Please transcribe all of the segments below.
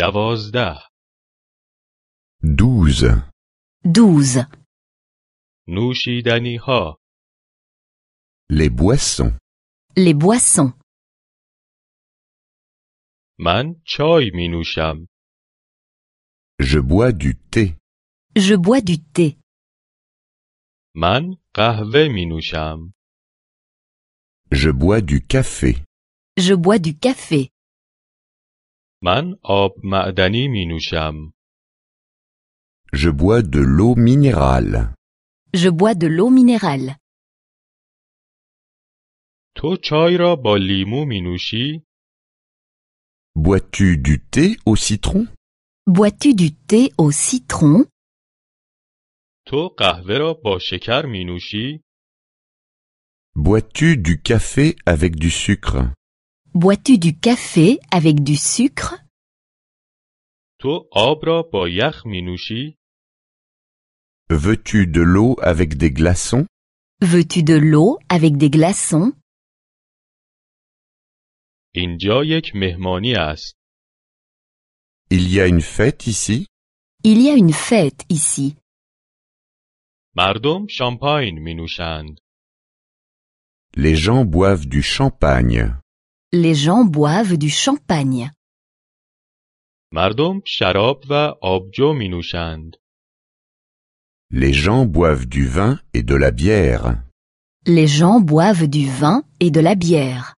12 12. 12. نوشیدنی ها Les boissons. Les boissons. من چای می نوشم. Je bois du thé. Je bois du thé. من قهوه می نوشم. Je bois du café. Je bois du café. من آب معدنی می نوشم. Je bois de l'eau minérale. Je bois de l'eau minérale. تو چای را با لیمو می نوشی؟ Bois-tu du thé au citron? Bois-tu du thé au citron? تو قهوه را با شکر می نوشی؟ Bois-tu du café avec du sucre? Bois-tu du café avec du sucre? تو آب را با یخ می نوشی؟ Veux-tu de l'eau avec des glaçons? Veux-tu de l'eau avec des glaçons? اینجا یک مهمانی است. Il y a une fête ici? Il y a une fête ici. مردم شامپاین می نوشند. Les gens boivent du champagne. Les gens boivent du champagne. مردم شراب و آبجو می نوشند. Les gens boivent du vin et de la bière. Les gens boivent du vin et de la bière.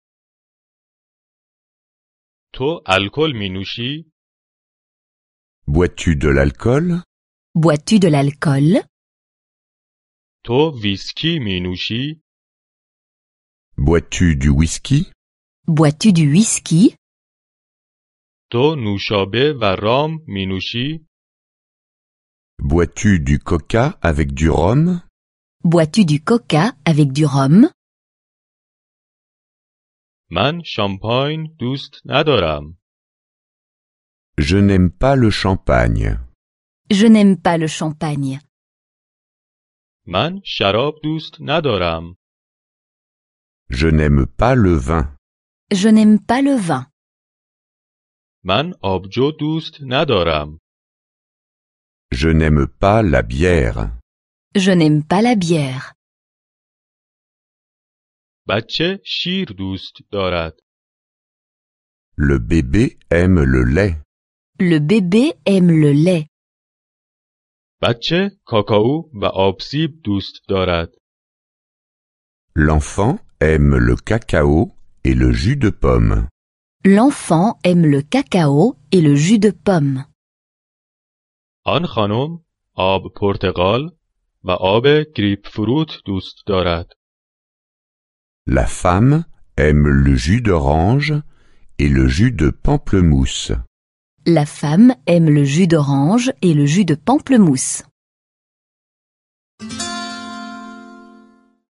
تو الکل می نوشی؟ Bois-tu de l'alcool? Bois-tu de l'alcool? تو ویسکی می نوشی؟ Bois-tu du whisky? Bois-tu du whisky? تو نوشابه و رام می نوشی؟ Bois-tu du coca avec du rhum? Bois-tu du coca avec du rhum? من شامپاین دوست ندارم. Je n'aime pas le champagne. Je n'aime pas le champagne. من شراب دوست ندارم. Je n'aime pas le vin. Je n'aime pas le vin. من آبجو دوست ندارم. Je n'aime pas la bière. Je n'aime pas la bière. بچه شیر دوست دارد. Le bébé aime le lait. Le bébé aime le lait. بچه کاکائو و آبسیب دوست دارد. L'enfant aime le cacao et le jus de pomme. L'enfant aime le cacao et le jus de pomme. آن خانم آب پرتقال و آب گریپ فروت دوست دارد. La femme aime le jus d'orange et le jus de pamplemousse. La femme aime le jus d'orange et le jus de pamplemousse.